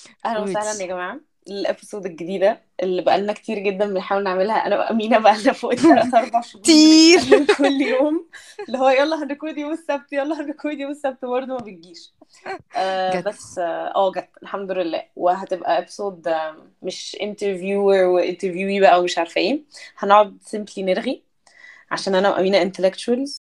اهلا وسهلا قولي. يا جماعه. الابيسود الجديده اللي بقالنا كتير جدا بنحاول نعملها انا وامينه، بقالنا فوق الثلاث اربع شهور كتير. بنتكلم كل يوم، اللي هو يلا هنريكورد يوم السبت، يلا هنريكورد يوم السبت، برضه ما بتجيش. جد. بس جت الحمد لله، وهتبقى ابيسود مش انترفيور وانترفيوي بقى ومش عارفه ايه. هنقعد سيمبلي نرغي عشان انا وامينه انتلكتشوالز،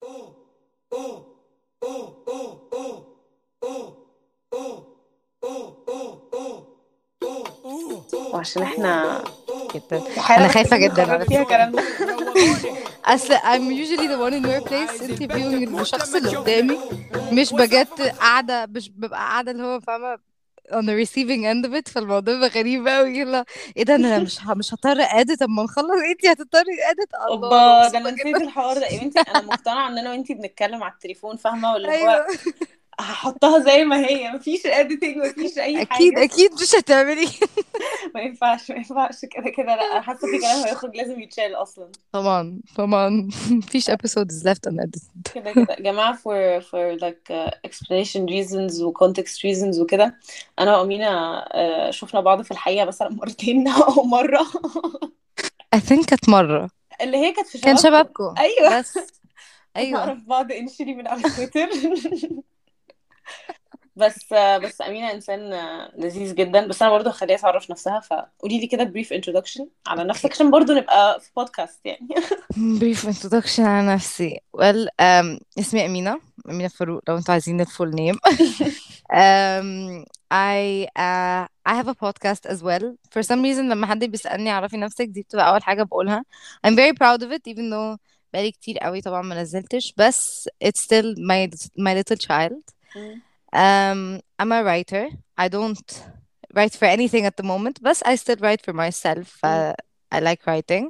وعشان احنا جدا. في حاله انا خايفه محتاجين جدا نخرج على فيها فكره. كلامنا. اصل I'm usually the one in your place interviewing الشخص اللي قدامي، مش بجد قاعده، مش ببقى قاعده اللي هو فاهمه on the receiving end of it. فالموضوع بقى غريب قوي. لا، ايه ده؟ انا مش هضطر ادit. طب ما نخلص انتي هتضطري ادit. الله، انا اوبا، ده مبسوطه انا نسيت جدا. الحوار ده يا بنتي. انا مقتنعه ان انا وانتي بنتكلم على التليفون، فاهمه؟ واللي هو ايوه. هحطها زي ما هي، مفيش اديتنج، مفيش اي اكيد حاجه. اكيد مش هتعملي. ما ينفعش ما ينفعش كده كده، لا انا حاسه في كلام هيخرج لازم يتشال اصلا. طبعا طبعا. مفيش episodes left unedited. كده كده يا جماعه، for like explanation reasons و context reasons وكده. انا وامينه شفنا بعض في الحقيقه مثلا مرتين او مره. I think كانت مرة. اللي هي كانت في كان شبابكم. شبابكم ايوه. بس. ايوه. نعرف بعض انشلي من على تويتر. بس أمينة إنسان لذيذ جدا. بس أنا برضه هخليها تعرف نفسها، فقولي لي كده بريف introduction على نفسك اوكي. عشان برضه نبقى في بودكاست يعني. brief introduction على نفسي. اسمي أمينة. أمينة فاروق لو انتوا عايزين الفول name. I have a podcast as well. For some reason لما حد بيسألني عرفي نفسك دي بتبقى أول حاجة بقولها. I'm very proud of it even though بقالي كتير قوي طبعا ما نزلتش، بس it's still my little child. مم. I'm a writer. I don't write for anything at the moment, but I still write for myself. مم. I like writing.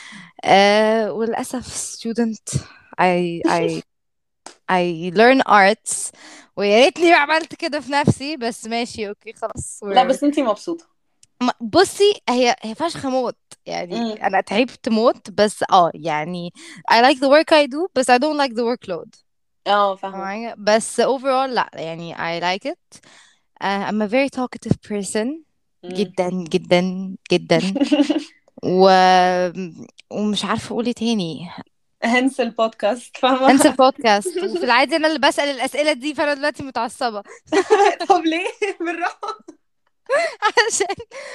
وللأسف student. I I learn arts. ويا ريتني ما عملت كده في نفسي، بس ماشي اوكي خلاص. لا بس انتي مبسوطة. بصي، هي فشخ موت. يعني مم. انا تعبت موت، بس يعني I like the work I do بس I don't like the workload. اه فاهمة. معايا؟ بس overall لا، يعني I like it. I'm a very talkative person. مم. جدا جدا جدا. و... ومش عارفة اقول ايه تاني. هنس البودكاست، انسى فاهمة. البودكاست، وفي العادي انا اللي بسأل الأسئلة دي، فانا دلوقتي متعصبة. طب ليه؟ بالراحة. عشان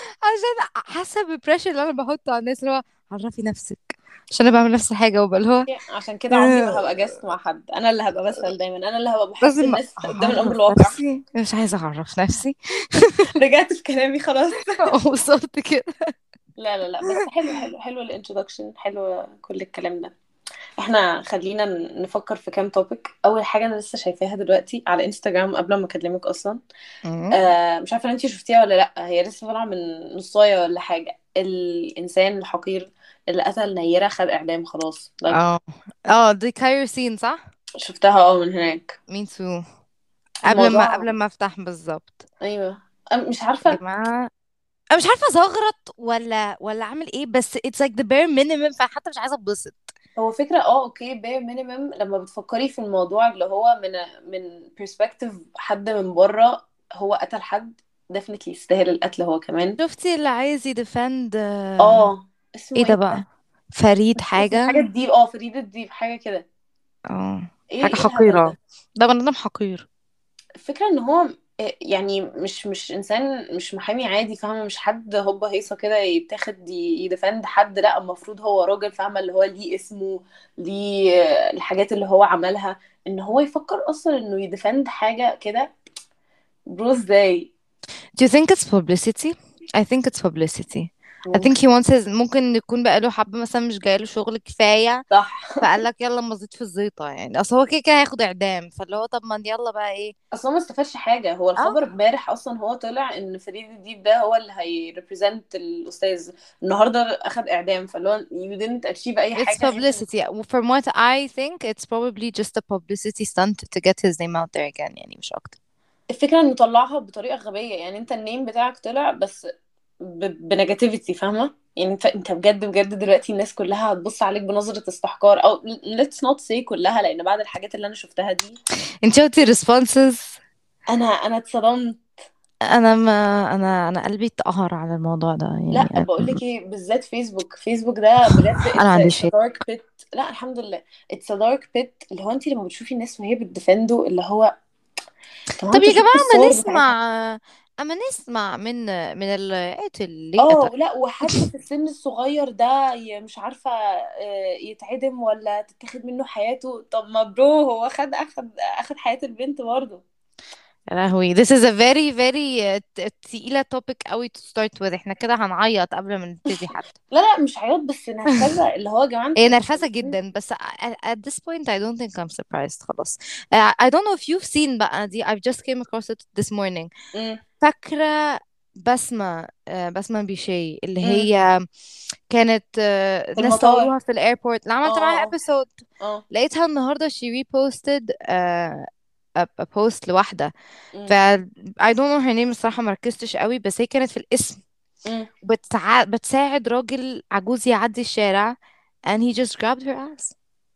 حاسة بالبريشر اللي انا بحطه على الناس، اللي هو عرفي نفسك، عشان انا بعمل نفس الحاجة وبقى اللي هو عشان كده عمري ما آه، هبقى جاست مع حد، انا اللي هبقى بسأل دايما، انا اللي هبقى بحط لازم الناس قدام الامر اعرف الواقع. نفسي. مش عايزة اعرف نفسي. رجعت في كلامي خلاص. وصلت كده. لا لا لا، بس حلو حلو حلو الانترودكشن، حلو كل الكلام ده. احنا خلينا نفكر في كام توبيك. اول حاجه انا لسه شايفاها دلوقتي على انستغرام قبل ما اكلمك اصلا. مم. مش عارفه ان انتي شفتيها ولا لا، هي لسه طالعه من نصايه ولا حاجه. الانسان الحقير اللي قتل نيرة خد اعدام خلاص. اه اه، دي كايروسين صح؟ شفتها من هناك. مين تو؟ الموضوع قبل ما افتح بالظبط. ايوه. مش يا عارفه. جماعة، انا مش عارفه زغرط ولا اعمل ايه، بس it's like the bare minimum، فحتى مش عايزه اتبسط. هو فكره اوكي بير مينيمم لما بتفكري في الموضوع، اللي هو من perspective حد من بره. هو قتل حد definitely يستاهل القتل هو كمان. شفتي اللي عايز يدفند ايه اسمه ده ايه بقى؟ ده؟ فريد مش اسمه حاجه حاجه. الديب، فريد الديب حاجه كده. اه، ايه حاجه ايه الهبل حقيره. ده؟ ده بني ادم حقير. الفكرة ان هو يعني مش انسان، مش محامي عادي، فاهمة؟ مش حد هوبا هيصة كده يتاخد يدفند حد. لا، المفروض هو راجل، فاهمة؟ اللي هو ليه اسمه، ليه الحاجات اللي هو عملها. ان هو يفكر اصلا انه يدفند حاجة كده. برو ازاي؟ Do you think it's publicity? I think it's publicity. I think ممكن. he wants his. ممكن يكون بقاله حبة مثلا مش جايله شغل كفاية، صح. فقال لك يلا مزيد في الزيطة. يعني اصل هو كده كده هياخد اعدام، فاللي هو طب ما يلا بقى ايه. اصلا ما استفادش حاجة. هو اه، الخبر امبارح اصلا هو طلع ان فريد الديب ده هو اللي هيريبريزنت الاستاذ. النهارده اخد اعدام، فاللي هو you didn't achieve اي it's حاجة غير ان publicity. From what I think it's probably just a publicity stunt to get his name out there again، يعني مش اكتر. الفكرة انه طلعها بطريقة غبية. يعني انت النيم بتاعك طلع بس بنيجاتيفيتي، فاهمة؟ يعني انت بجد بجد دلوقتي الناس كلها هتبص عليك بنظرة استحقار، او let's not say كلها، لان بعد الحاجات اللي انا شفتها دي انت شفتي responses؟ انا اتصدمت. انا قلبي اتقهر على الموضوع ده لا يعني. بقول لك ايه، بالذات فيسبوك، فيسبوك ده بجد انا ما اتس عنديش. ا دارك بيت. لا الحمد لله، اتس ا دارك بيت. اللي هو انت لما بتشوفي الناس وهي بتديفندو، اللي هو طب ما طب انتوا يا شفتوا جماعة ما الصور بتاعتها. نسمع، اما نسمع من اللي قاتل ليه اه قتل. لا، وحد في السن الصغير ده مش عارفة يتعدم ولا تتاخد منه حياته. طب ما برو هو اخد حياة البنت برضه. يا لهوي this is a very very تقيلة topic قوي to start with. احنا كده هنعيط قبل ما نبتدي حتى. لا لا مش عياط، بس نرفزة. اللي هو يا جماعة هي انتوا نرفزة متخلفين. جدا بس at this point I don't think I'm surprised خلاص. I don't know if you've seen بقى دي. I've just came across it this morning. امم. فاكرة بسمة بسمة بيشي اللي امم. هي كانت في ناس المطار. صوروها في الايربورت اللي اه عملت معاها اه ابيسود. اه لقيتها النهاردة she reposted a post لواحدة. ف اه. I don't know her name الصراحة مركزتش قوي، بس هي كانت في الاسم امم. بتساعد راجل عجوز يعدي الشارع and he just grabbed her ass.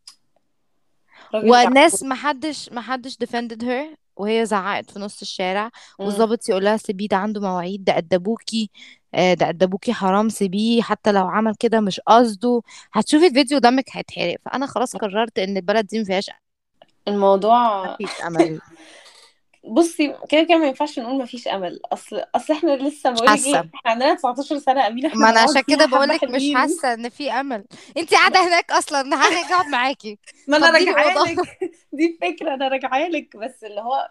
راجل والناس عجوز. محدش defended her وهي زعقت في نص الشارع. امم. والضابط يقول لها سيبيه ده عنده مواعيد، ده أدبوكي ده أدبوكي حرام سيبيه حتى لو عمل كده مش قصده. هتشوفي الفيديو دمك هيتحرق. فأنا خلاص قررت إن البلد دي مفيهاش الموضوع فيش أمل. بصي كده كده ما ينفعش نقول ما فيش امل. اصل احنا لسه مش بقولك حاسة. ايه، احنا عندنا 19 سنة امين، احنا ما أنا هنقعد عشان فيها كده حبة بقولك مش حلوين. حاسة إن في أمل. انتي قاعدة هناك أصلا هاجي أقعد معاكي. ما انا فضيلي راجعه أوضة. لك. دي الفكرة، انا راجعه لك، بس اللي هو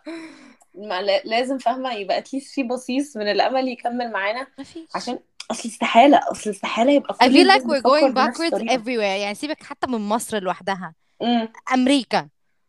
لازم فاهمة يبقى اتليست في بصيص من الامل يكمل معانا. مفيش. عشان اصل استحالة يبقى I كل feel الناس like we're بتفكر going بنفس backwards الطريقة. everywhere. يعني سيبك حتى من مصر لوحدها، امم. أمريكا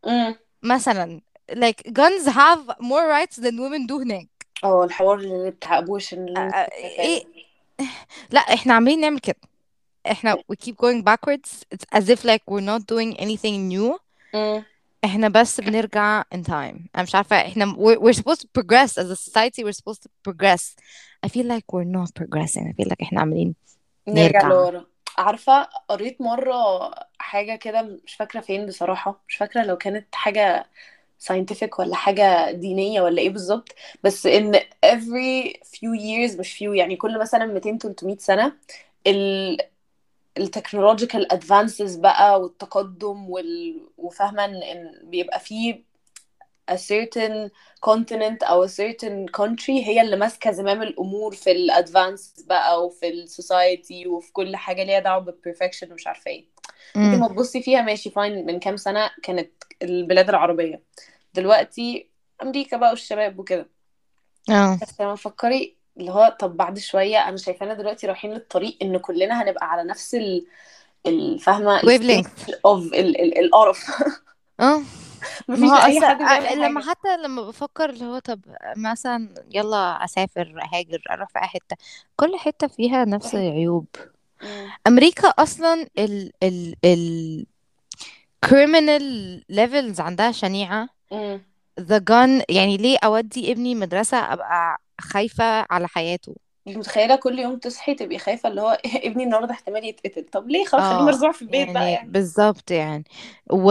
مثلا like guns have more rights than women do هناك. اه الحوار اللي بتاع ابوشن اللي انت شايفاه ايه. ده. لا احنا عاملين نعمل كده. احنا we keep going backwards. It's as if like we're not doing anything new. امم. احنا بس بنرجع in time. انا مش عارفة احنا we're supposed to progress as a society. We're supposed to progress. I feel like we're not progressing. I feel like احنا عاملين نرجع نرجع. لورا. عارفة قريت مرة حاجة كده، مش فاكرة فين بصراحة، مش فاكرة لو كانت حاجة scientific ولا حاجة دينية ولا ايه بالظبط. بس ان every few years، مش few يعني كل مثلا 200 300 سنة، ال التكنولوجيكال ادفانسز بقى والتقدم وفاهمة إن بيبقى فيه a certain continent او a certain country هي اللي ماسكة زمام الامور في الادفانس بقى وفي السوسايتي وفي كل حاجة ليها دعوة بالبرفكشن ومش عارفة ايه. انت امم. ما تبصي فيها ماشي فاين، من كام سنة كانت البلاد العربية، دلوقتي امريكا بقى والشباب وكده. اه بس لما تفكري اللي هو طب بعد شوية، انا شايفانا دلوقتي رايحين للطريق ان كلنا هنبقى على نفس الفاهمة الستيج wavelength. اوف القرف. اه ما مفيش هو اي أصل حد بيعمل لما حاجة. حتى لما بفكر اللي هو طب مثلا يلا أسافر أهاجر أروح في أي حتة، كل حتة فيها نفس العيوب. مم. أمريكا أصلا ال criminal levels عندها شنيعة. مم. the gun يعني ليه أودي ابني مدرسة أبقى خايفة على حياته. انت متخيلة كل يوم تصحي تبقي خايفة اللي هو ابني النهاردة احتمال يتقتل؟ طب ليه؟ خلاص خليه اه مرزوع في البيت بقى يعني يعني. بالظبط يعني. و...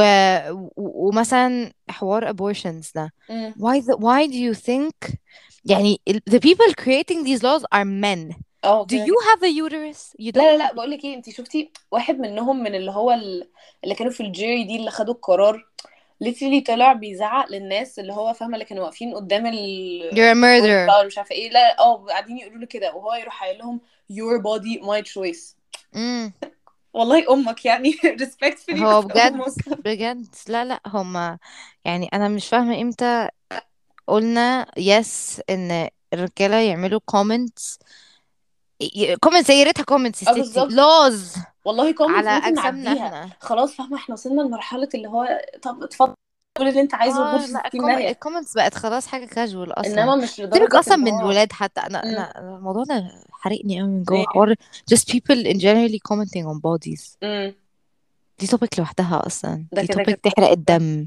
ومثلا حوار abortions ده. مم. why do you think يعني the people creating these laws are men. اه do كده you كده. have a uterus you لا لا don't. لا بقول لك ايه، انت شفتي واحد منهم من اللي هو اللي كانوا في الجيري دي اللي خدوا القرار، ليتلي طلع بيزعق للناس اللي هو فاهمه اللي كانوا واقفين قدام you're a الكورت murderer. بقى ولا مش عارفه ايه، لا اه قاعدين يقولوا له كده وهو يروح قايل لهم your body my choice. امم. والله امك يعني respectfully هو بس بجد امك. بجد لا لا هما يعني انا مش فاهمة امتى قلنا yes ان الرجالة يعملوا comments. comments زي ريتها comments يا اه ستي بالظبط. laws والله على كومنتس ممكن اجسامنا نعديها احنا. خلاص فاهمة، احنا وصلنا لمرحلة اللي هو طب اتفضل قول اللي انت عايزه وغور اه في لا 60 داهية. الكومنتس بقت خلاص حاجة كاجوال اصلا. انما مش سيبك لدرجة اصلا ان من هو الولاد حتى انا امم. انا الموضوع ده حرقني قوي من جوه ايه. حوار just people in generally commenting on bodies. امم. دي توبيك لوحدها اصلا. ده دي كده توبيك كده تحرق الدم.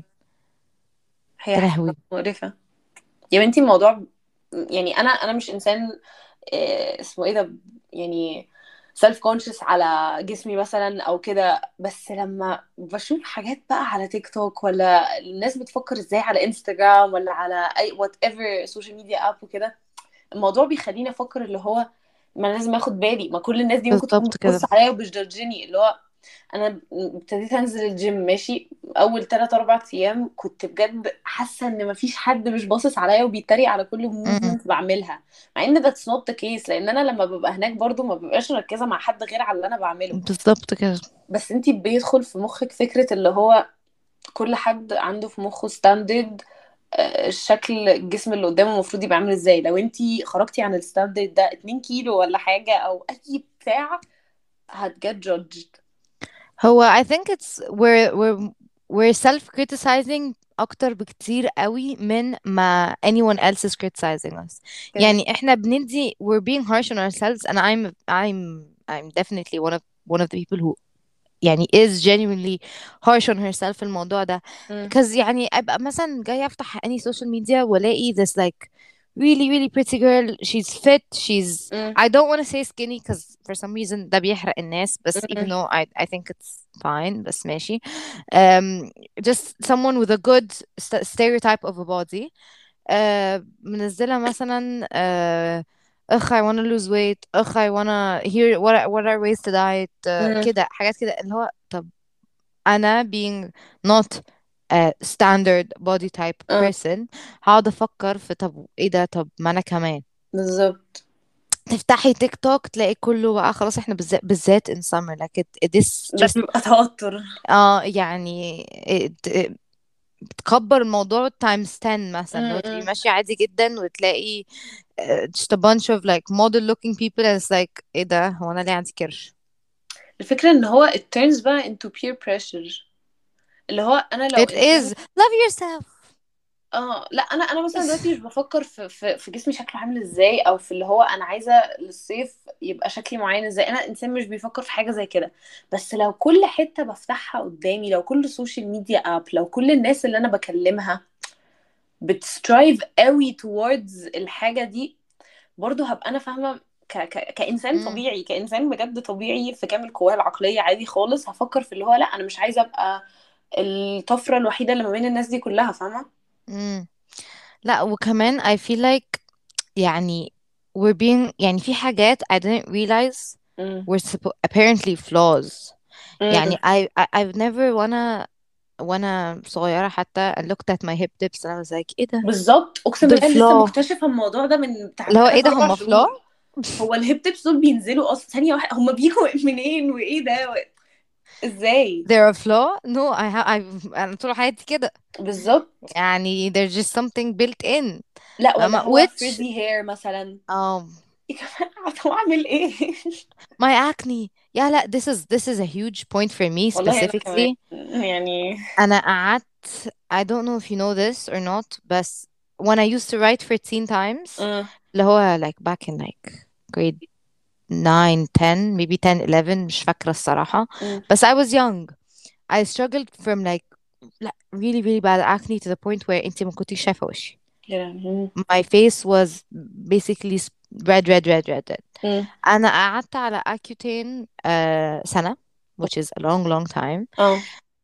هي يا حاجة لهوي. مقرفة. يا بنتي الموضوع يعني انا مش انسان اسمه ايه ده يعني سيلف كونشس على جسمي مثلا او كده، بس لما بشوف حاجات بقى على تيك توك ولا الناس بتفكر ازاي على انستجرام ولا على اي وات ايفر سوشيال ميديا اب وكده، الموضوع بيخليني افكر اللي هو ما أنا لازم اخد بالي، ما كل الناس دي ممكن تكون بالظبط كده. بتبص عليا وبتجادجني. اللي هو انا ابتديت انزل الجيم ماشي، اول 3 4 ايام كنت بجد حاسه ان مفيش حد مش باصص عليا وبيتريق على كل امم. موفمنت بعملها، مع ان that's not the case، لان انا لما ببقى هناك برضو ما ببقاش مركزه مع حد غير على اللي انا بعمله. بالظبط كده. بس انتي بيدخل في مخك فكره اللي هو كل حد عنده في مخه ستاندرد، الشكل الجسم اللي قدامه المفروض يبقى عامل ازاي. لو انتي خرجتي عن الستاندرد ده 2 كيلو ولا حاجه او اي بتاع هتجت جادجد. هو I think it's we're self criticizing اكتر بكتير قوي من ما anyone else is criticizing us. كده. يعني احنا بندي we're being harsh on ourselves and I'm definitely one of the people who يعني is genuinely harsh on herself في الموضوع ده. مم. because يعني ابقى مثلا جاية افتح any social media والاقي this like really really pretty girl, she's fit, she's مم. I don't want to say skinny because for some reason ده بيحرق الناس بس even مم. though I think it's fine بس ماشي. um, just someone with a good stereotype of a body. منزلة مثلا اخ I wanna lose weight, اخ I wanna hear what are ways to diet, مم. كده حاجات كده اللي هو طب انا being not a standard body type اه person هقعد افكر في طب ايه ده، طب ما انا كمان. بالظبط. تفتحي تيك توك تلاقي كله بقى خلاص احنا بالذات in summer like this ده just بيبقى توتر. يعني بتكبر الموضوع times 10 مثلا لو تبقي مم. ماشية عادي جدا وتلاقي just a bunch of like model looking people and it's like ايه ده، هو انا ليه عندي كرش؟ الفكرة ان هو it turns بقى into peer pressure. اللي هو انا لو it انسان، is love yourself. اه لا انا مثلا دلوقتي مش بفكر في جسمي شكله عامل ازاي، او في اللي هو انا عايزه للصيف يبقى شكلي معين ازاي. انا انسان مش بيفكر في حاجه زي كده. بس لو كل حته بفتحها قدامي، لو كل سوشيال ميديا اب، لو كل الناس اللي انا بكلمها بتسترايف قوي towards الحاجه دي، برضه هبقى انا فاهمه كانسان مم. طبيعي، كانسان بجد طبيعي في كامل قواه العقليه عادي خالص، هفكر في اللي هو لا انا مش عايزه ابقى الطفره الوحيده اللي ما بين الناس دي كلها، فاهمه. مم. لا وكمان I feel like يعني we're being يعني في حاجات I didn't realize امم. were apparently flaws. يعني امم. I've never وانا صغيرة حتى I looked at my hip dips and I was like ايه ده، بالظبط، اقسم دول بالله لسه flaw. مكتشفه الموضوع ده من بتاع اللي هو ايه 3 ده 4 هم flaw. شهور. هو الهيب تيبس دول بينزلوا اصلا ثانيه واحده، هم بيجوا منين وايه ده ازاي؟ they're a flaw no أنا طول حياتي كده. بالظبط. يعني there's just something built in. لا ولا هو which فريزي هير مثلا. um يا جماعه طب اعمل ايه؟ my acne. yeah لا this is a huge point for me والله انا كمان specifically. يعني. أنا قعدت I don't know if you know this or not بس when I used to write for teen times امم. اللي هو like back in like grade 9 10 maybe 10 11 مش فاكرة الصراحة امم. بس I was young. I struggled from like لا really really bad acne to the point where انتي ما كنتيش شايفة وشي. يا لهوي. My face was basically red. امم. أنا قعدت على Accutane سنة which is a long time. اه.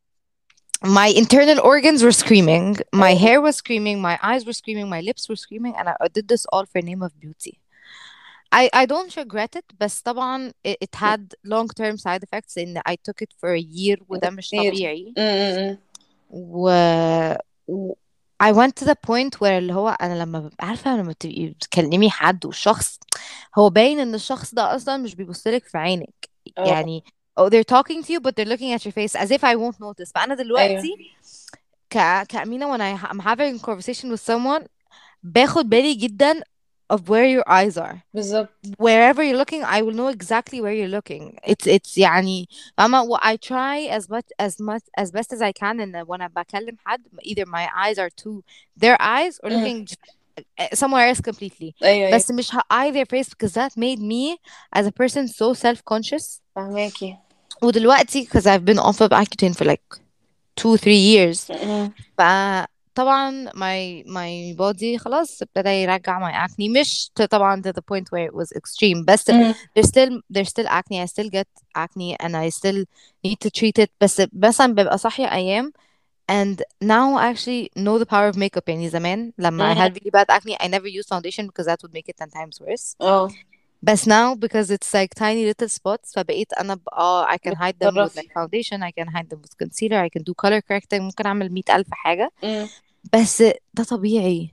My internal organs were screaming, my اه hair was screaming, my eyes were screaming, my lips were screaming, and I did this all for name of beauty. I don't regret it بس طبعا it had long term side effects in I took it for a year وده مش بكتير. طبيعي. امم. و... و I went to the point where اللي هو أنا لما ببقى عارفة لما تبقي بتكلمي حد والشخص هو باين إن الشخص ده أصلا مش بيبصلك في عينك اه. يعني oh they're talking to you but they're looking at your face as if I won't notice. فأنا ايوه دلوقتي كأمينة when I'm having a conversation with someone باخد بالي جدا of where your eyes are. بالظبط. Wherever you're looking I will know exactly where you're looking. It's يعني فاهمة what I try as best as I can and when I بكلم حد either my eyes are to their eyes or امم. looking somewhere else completely. ايوه ايوه بس مش eye their face because that made me as a person so self-conscious. فهماكي. ودلوقتي because I've been off of Accutane for like 2 3 years امم. فطبعا my body خلاص ابتدى يرجع my acne مش طبعا to the point where it was extreme بس امم. there's still acne. I still get acne and I still need to treat it بس مثلا ببقى صاحية أيام and now I actually know the power of makeup. يعني زمان لما I مم. had really bad acne I never used foundation because that would make it 10 times worse. اه But now because it's like tiny little spots فبقيت أنا I can hide them with بتتصرفي. like foundation, I can hide them with concealer, I can do color correcting, ممكن أعمل 100,000 حاجة. مم. بس ده طبيعي.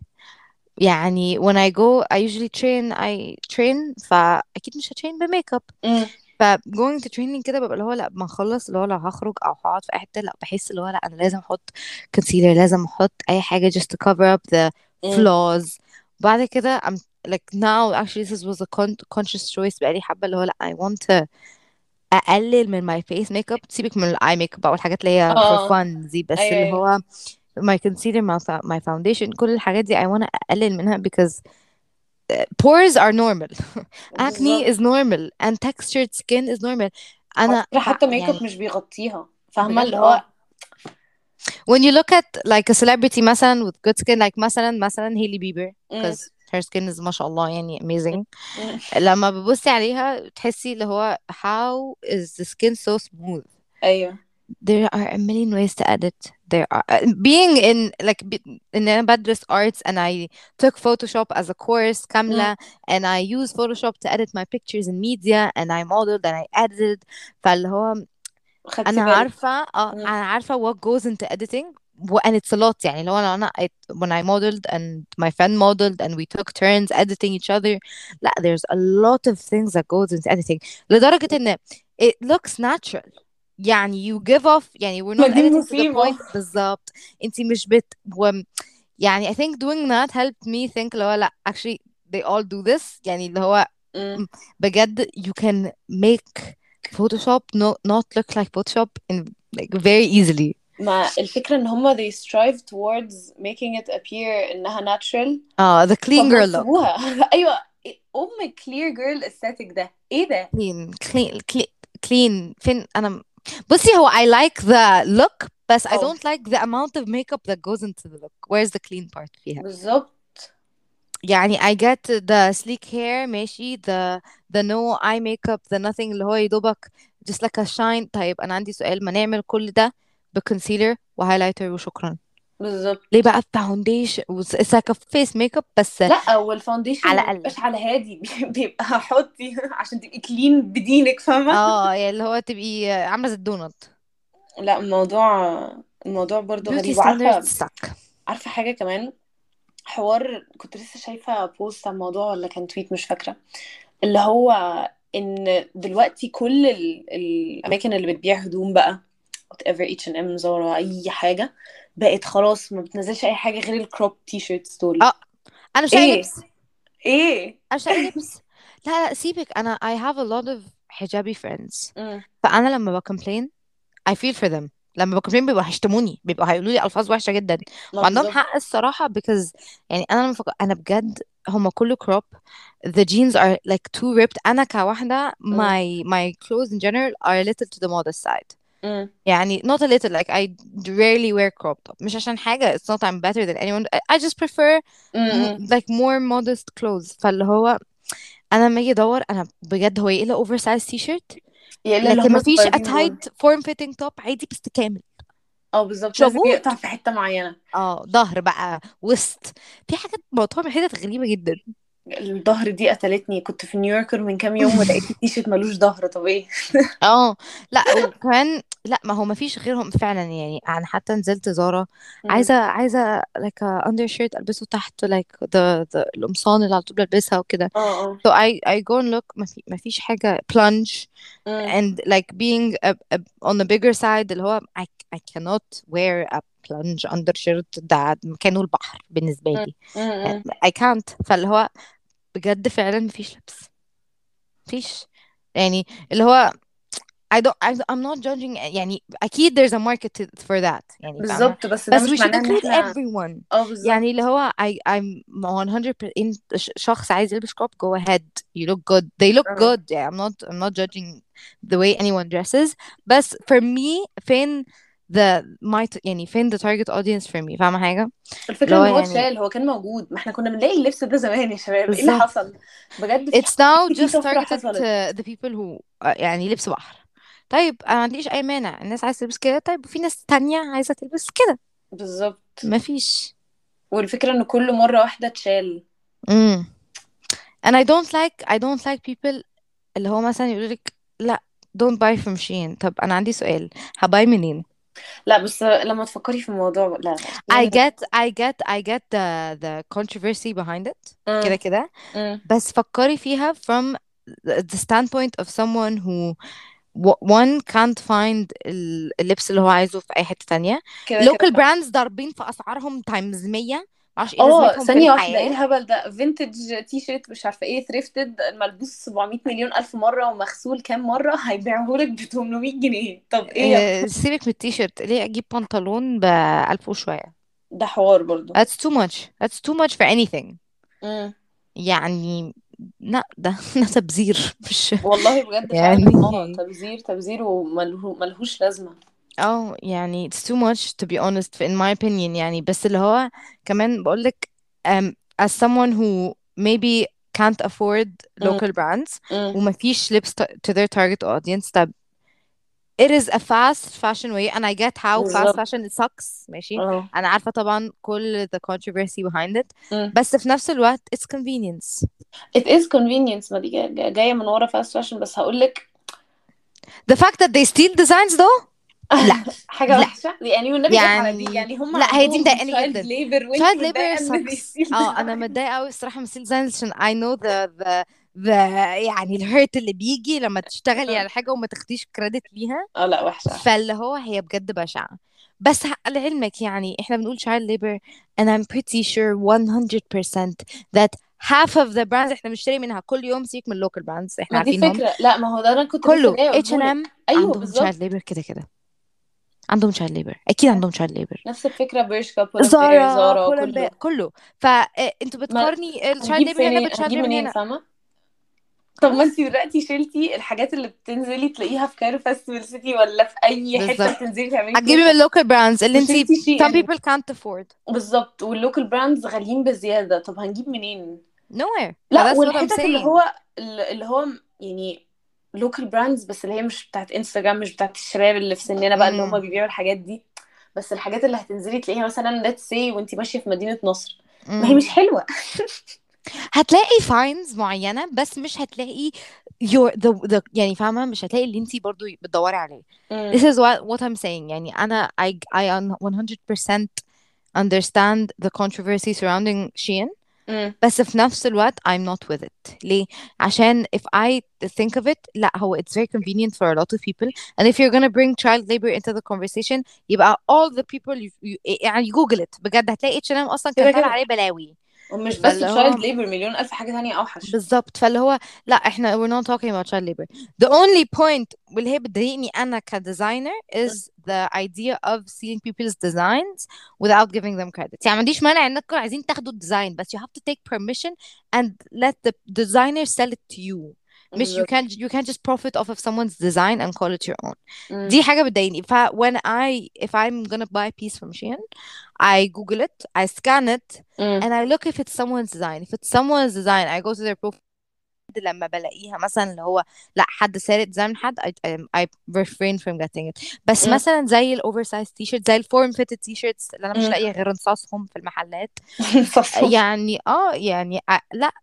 يعني when I go I usually I train فأكيد مش هترين بميك اب. مم. ف going to training كده ببقى اللي هو لا ما اخلص اللي هو لو هخرج او هقعد في اي حته لا بحس اللي هو لا انا لازم احط concealer, لازم احط اي حاجه just to cover up the مم. flaws. بعد كده I'm like now actually this was a conscious choice بقالي حبه اللي هو لا I want to اقلل من my face makeup, سيبك من الاي ميك اب او الحاجات اللي هي for اه fun دي, بس ايوه اللي ايوه هو my concealer my foundation كل الحاجات دي I want to اقلل منها because pores are normal. Acne بالظبط. is normal and textured skin is normal. على انا فكرة حتى ميك اب يعني مش بيغطيها، فاهمة بجد اللي هو. when you look at like a celebrity مثلا with good skin like مثلا هيلي بيبر مم. because her skin is ما شاء الله يعني amazing. مم. لما بتبصي عليها تحسي اللي هو how is the skin so smooth. ايوه There are a million ways to edit. There are being in like in أنا بدرس arts and I took Photoshop as a course مم. كاملة and I use Photoshop to edit my pictures in media and I modeled and I edited. فاللي هو خدتي انا بالك. عارفه مم. انا عارفه what goes into editing and it's a lot. يعني لو انا when I modeled and my friend modeled and we took turns editing each other لا there's a lot of things that goes into editing لدرجه ان it looks natural. يعني you give off يعني we're ما not دي editing to the المصيبة. point بالظبط. انتي مش يعني I think doing that helped me think اللي هو لا actually they all do this. يعني اللي هو مم. بجد you can make Photoshop not look like Photoshop in like very easily. ما الفكرة ان هما they strive towards making it appear انها natural. The clean فما girl look. يسيبوها. ايوه. ام clear girl aesthetic ده ايه ده؟ clean فين أنا بصي هو I like the look بس I اه don't like the amount of makeup that goes into the look. Where's the clean part فيها؟ بالظبط. يعني I get the sleek hair ماشي, the no eye makeup, the nothing اللي هو يدوبك just like a shine. طيب أنا عندي سؤال, ما نعمل كل ده بكونسيلر وهايلايتر وشكرا. ليه بالظبط. بقى foundation it's like a face makeup بس لا والفاونديشن على ما الأقل. بيبقاش على هادي. بيبقى حطي عشان تبقي كلين بدينك، فاهمة. اه يعني اللي هو تبقي عاملة زي الدونت. لا الموضوع برضو beauty غريب. standards وعارفة، suck. عارفة حاجة كمان. حوار كنت لسه شايفة بوست عن الموضوع ولا كان تويت مش فاكرة، اللي هو ان دلوقتي كل الاماكن اللي بتبيع هدوم بقى whatever H&M زارا اي حاجة بقت خلاص ما بتنزلش اي حاجة غير الكروب تي شيرتس دول. اه انا مش لاقي ايه لبس. ايه. انا مش لاقي لبس. لا سيبك, انا I have a lot of حجابي friends. امم. فانا لما بكمبلين I feel for them. لما بكمبلين بيبقوا هيشتموني, بيبقوا هيقولوا لي الفاظ وحشه جدا ما وعندهم بالظبط. حق الصراحه because يعني انا لما انا بجد هما كله crop, the jeans are like too ripped. انا كواحده امم. my clothes in general are a little to the modest side. امم. يعني not a little, like I rarely wear crop top, مش عشان حاجة, it's not I'm better than anyone, I just prefer امم. like more modest clothes. فاللي هو انا لما اجي ادور انا بجد هو ايه الا اوفر سايز تي شيرت يا الا اللي لكن هم ما فيش الصغيرين دول. اتايد فورم فيتنج توب عادي بس كامل. اه بالظبط، مش لازم موجود. يقطع في حتة معينة. ظهر بقى وسط, في حاجات مقطوعة من حتت غريبة جدا. الظهر دي قتلتني. كنت في نيويوركر من كام يوم ولقيت التيشيرت ملوش ظهر. طب ايه؟ اه لا وكمان لا ما هو ما فيش غيرهم فعلا. يعني انا حتى نزلت زارا امم. عايزه like a undershirt البسه تحت like the القمصان اللي على طول بلبسها وكده. اه اه. so I go and look ما فيش حاجه plunge امم. and like being on the bigger side اللي هو I cannot wear a plunge undershirt ده مكانه البحر بالنسبه لي. امم. I can't. فاللي هو بجد فعلا مفيش لبس, مفيش. يعني اللي هو I'm not judging يعني أكيد there's a market for that يعني فاهمة. بالظبط، بس ده بس we مش should معناه ان include احنا. everyone. اه بالظبط. يعني اللي هو I'm 100% شخص عايز يلبس crop go ahead, you look good, they look اه good. yeah, I'm not judging the way anyone dresses. بس for me فين يعني فين the target audience for me, فاهمة حاجة اللي الفكرة هو ان هو يعني اتشال. هو كان موجود، ما احنا كنا بنلاقي اللبس ده زمان يا شباب. ايه اللي بالظبط. حصل؟ بجد في it's now في just طفرة targeted حصلت. to the people who يعني لبس بحر طيب انا ما عنديش اي مانع، الناس عايزه تلبس كده، طيب وفي ناس تانية عايزه تلبس كده. بالظبط. مفيش. والفكرة ان كل مرة واحدة تشال. امم and I don't like people اللي هو مثلا يقول لك لا don't buy from Shein. طب انا عندي سؤال، هباي منين؟ لا بس لما تفكري في الموضوع، لا لا I يعني. get I get I get the controversy behind it امم. كده كده. امم. بس فكري فيها from the standpoint of someone who one can't find اللبس اللي هو عايزه في اي حتة تانية. كده كده local صح. brands ضاربين في اسعارهم تايمز 100. معرفش ايه اه لازمتهم في ثانية واحدة، ايه الحياة. الهبل ده؟ فينتج تي شيرت مش عارفة ايه، ثريفتد، ملبوس 700 مليون ألف مرة ومغسول كام مرة، هيبيعهولك ب 800 جنيه. طب ايه يا سيبك من التيشيرت، ليه اجيب بنطلون ب1000 وشوية؟ ده حوار برضو. that's too much, that's too much for anything. امم. يعني لا ده ده تبذير مش والله بجد فعلا، اه يعني. تبذير تبذير وملهوش لازمة. اه يعني it's too much to be honest in my opinion يعني. بس اللي هو كمان بقولك as someone who maybe can't afford امم. local brands امم. ومفيش لبس to their target audience. طب it is a fast fashion way and I get how fast بالظبط. fashion it sucks ماشي. اه. أنا عارفة طبعا كل the controversy behind it. بس في نفس الوقت it's convenience. it is convenience، ما دي جاية من ورا fast fashion، بس هقولك. the fact that they steal designs though لا. حاجة لا وحشة يعني، والنبي جت على دي يعني يعني، هم لا هي دي عندهم مضايقاني child جدا. labor وانتي child labor متضايقة ان دي sucks. still اه انا design. متضايقه قوي الصراحه من ستيل ديزاينز عشان I know the يعني الهيرت اللي بيجي لما تشتغلي على حاجه وما تاخديش كريدت ليها. اه لا وحشة وحشة. فاللي هو هي بجد بشعه. بس لعلمك يعني احنا بنقول child labor and I'm pretty sure 100% that half of the brands احنا بنشتري منها كل يوم، سيبك من local brands احنا ما دي عارفينهم فكرة، لا ما هو ده انا كنت لسه كله جاية H&M اقولهولك، ايوه عندهم child بالظبط. labor كده كده. عندهم child labor اكيد عندهم child labor. نفس الفكرة، برشكا، بولمبير، زارا زارا، بولن كله. كله. فانتوا ما بتقارني الشايلد هنجيب ليبر هنا فين، بالشايلد هنجيب ليبر منين، هنا. فاهمة؟ طب ما انتي خلاص دلوقتي شلتي الحاجات اللي بتنزلي تلاقيها في كايرو فاستيفال سيتي ولا في اي حتة بالظبط. بتنزلي تعملي هتجيبي من فيها، اللوكال براندز اللي انتي وشلتي شي some ان. people can't afford. بالظبط، واللوكال براندز غاليين بزيادة، طب هنجيب منين؟ nowhere. لا فthat's what I'm والحتت اللي saying. هو اللي هو يعني لوكال براندز، بس اللي هي مش بتاعت انستجرام، مش بتاعت الشباب اللي في سننا بقى اللي هم امم بيبيعوا الحاجات دي. بس الحاجات اللي هتنزلي تلاقيها مثلا let's say وانتي ماشية في مدينة نصر، ما هي امم مش حلوة. هتلاقي فاينز معينة بس مش هتلاقي the يعني فاهمة، مش هتلاقي اللي انتي برضو بتدوري عليه. امم. This is what I'm saying يعني أنا I 100% understand the controversy surrounding Shein. امم. بس في نفس الوقت I'm not with it. ليه؟ عشان if I think of it لا هو it's very convenient for a lot of people and if you're gonna bring child labor into the conversation يبقى all the people يعني جوجل it بجد هتلاقي H&M أصلا كان كده طالع كده. عليه بلاوي. ومش بس فاللي تشايلد هو ليبر، مليون ألف حاجة تانية أوحش. بالظبط. فاللي هو لا احنا we're not talking about child labor. The only point واللي هي بتضايقني انا كديزاينر is the idea of seeing people's designs without giving them credit. يعني ما عنديش مانع انكم عايزين تاخدوا الديزاين بس you have to take permission and let the designer sell it to you. مش بالظبط. you can't just profit off of someone's design and call it your own. امم. دي حاجة بتضايقني. ف when if I'm gonna buy a piece from Shein I Google it, I scan it, امم. and I look if it's someone's design. If it's someone's design, I go to their profile. لما بلاقيها مثلا اللي هو لا حد سارق ديزاين من حد I refrain from getting it. بس امم. مثلا زي الاوفر سايز تي شيرت، زي الفورم فيتد تي شيرتس اللي انا مش امم. لاقيه غير نصاصهم في المحلات. صفصف. يعني يعني لا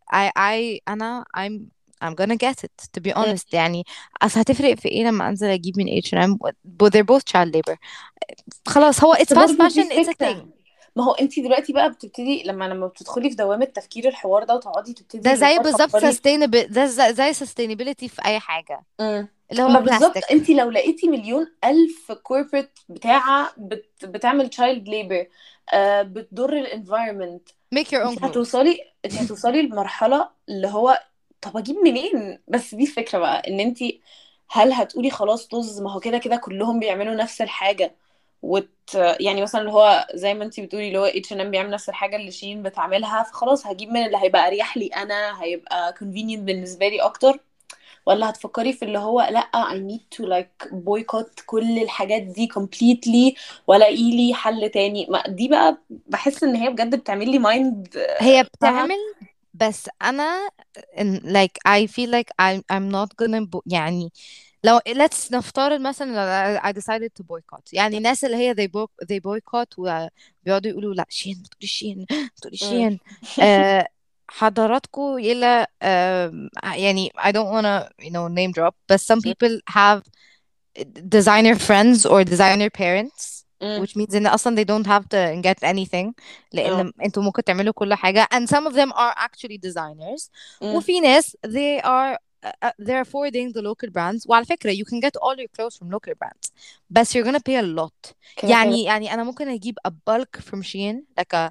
انا I'm gonna get it to be مم. honest يعني. اصل هتفرق في ايه لما انزل اجيب من H&M but they're both child labor. خلاص هو بس it's fast برضو دي fashion it's a الفكرة. thing. ما هو انت دلوقتي بقى بتبتدي لما بتدخلي في دوامة تفكير الحوار ده وتقعدي تبتدي ده اللي زي هو بالظبط تفكري. sustainable، ده زي sustainability في اي حاجة امم. اللي هو ما بالظبط، بلاستيك. انت لو لقيتي مليون الف كوربريت بتاعة بتعمل تشايلد ليبر، بتضر الانفايرمنت، make your own انت clothes. هتوصلي انت هتوصلي لمرحلة اللي هو طب اجيب منين؟ بس دي الفكرة بقى، ان انت هل هتقولي خلاص طز، ما هو كده كده كلهم بيعملوا نفس الحاجة، يعني مثلا اللي هو زي ما انت بتقولي اللي هو H&M بيعمل نفس الحاجة اللي شين بتعملها، فخلاص هجيب من اللي هيبقى اريح لي انا، هيبقى convenient بالنسبة لي اكتر؟ ولا هتفكري في اللي هو لا I need to like boycott كل الحاجات دي completely، ولا لي حل تاني؟ ما دي بقى بحس ان هي بجد بتعمل لي مايند. هي فاهمة. بتعمل بس انا like I feel like I'm not gonna يعني لو let's نفترض مثلا I decided to boycott، يعني الناس اللي هي they boycott وبيقعدوا يقولوا لا شين ما تقوليش شين ما تقوليش مم. شين. حضراتكم إلى يعني I don't wanna name drop but some people have designer friends or designer parents مم. which means ان اصلا they don't have to get anything اه. لان انتوا ممكن تعملوا كل حاجة and some of them are actually designers مم. وفي ناس they're forwarding the local brands وعلى فكرة you can get all your clothes from local brands بس you're gonna pay a lot. كده كده. يعني انا ممكن اجيب a bulk from Shein like a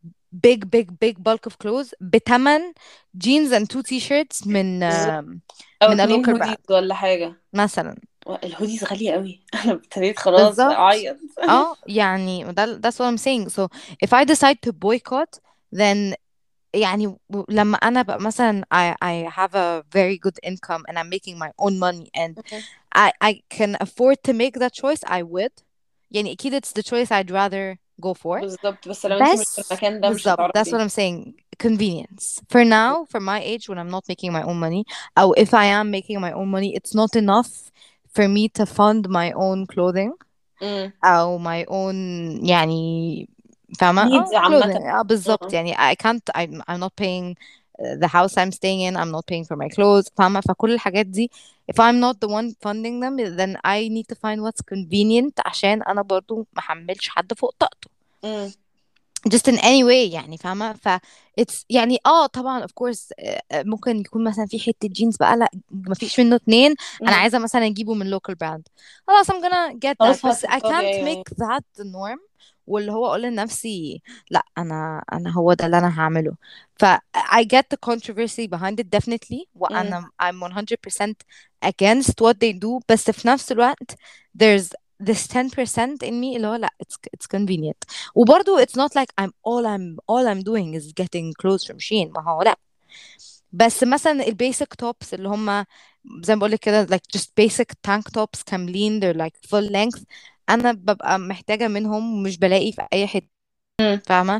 big bulk of clothes بتمن jeans and two t-shirts بالظبط. او من a اتنين local هوديز brand ولا حاجة. مثلا. الهوديز غالية قوي. انا ابتديت خلاص بالظبط. اعيط. اه يعني that's what I'm saying. So if I decide to boycott then يعني لما انا بقى مثلا I have a very good income and I'm making my own money and مم. I can afford to make that choice I would. يعني أكيد it's the choice I'd rather go for. بالظبط، بس لو انتي مش في بس المكان ده مش بالظبط that's what هتعرفي. I'm saying. Convenience for now for my age when I'm not making my own money أو if I am making my own money it's not enough for me to fund my own clothing امم. او my own يعني فاهمة نيدز عامة. clothing بالظبط اه. يعني I can't I'm not paying the house I'm staying in I'm not paying for my clothes فاهمة فكل الحاجات دي if I'm not the one funding them then I need to find what's convenient عشان أنا برضو محملش حد فوق طاقته امم. just in any way يعني فاهمة it's يعني طبعا of course ممكن يكون مثلا في حتة جينز بقى لا ما فيش منه اتنين أنا امم. عايزة مثلا أجيبه من local brand خلاص I'm gonna get that خلاص بس I هتختاري، can't ايوه ايوه. make that the norm واللي هو أقول لنفسي لا أنا هو ده اللي أنا هعمله ف I get the controversy behind it definitely امم. وأنا I'm 100% against what they do بس في نفس الوقت there's this 10% in me اللي هو لا it's convenient وبرضه it's not like I'm doing is getting clothes from Shein ما هو لا بس مثلا البيسك توبس اللي هم زي ما بقولك كده like just basic tank tops كاملين they're like full length انا ببقى محتاجة منهم ومش بلاقي في اي حتة امم. فاهمة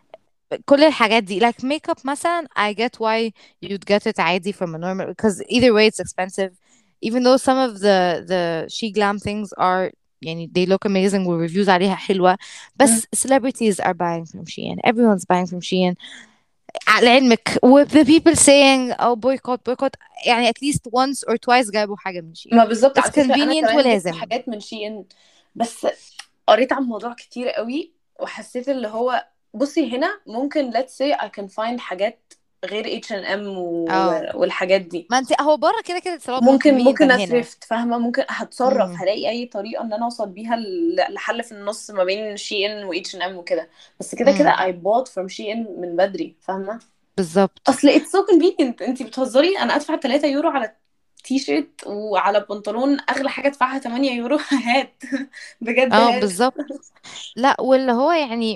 كل الحاجات دي like makeup مثلا I get why you'd get it عادي from a normal because either way it's expensive even though some of the she glam things are يعني they look amazing والreviews عليها حلوة امم. بس celebrities are buying from Shein everyone's buying from Shein على علمك with the people saying oh boycott يعني at least once or twice جابوا حاجة من Shein ما بالظبط، it's على فكرة انا convenient كمان جبت ولازم. حاجات من شي ان. بس قريت عن الموضوع كتير قوي وحسيت اللي هو، بصي هنا ممكن let's say I can find حاجات غير H&M اه والحاجات دي. ما انت هو بره كده كده it's a lot more convenient ممكن than هنا. اثرفت، فاهمة، ممكن هتصرف امم هلاقي اي طريقة ان انا اوصل بيها لحل في النص ما بين شي ان و H&M وكده. بس كده كده امم I bought from شي ان من بدري، فاهمة. بالظبط. اصل it's so convenient، انتي بتهزري، انا ادفع 3 يورو على تي شيرت وعلى بنطلون اغلى حاجة ادفعها 8 يورو. هات. بجد اه هات. بالظبط. لا واللي هو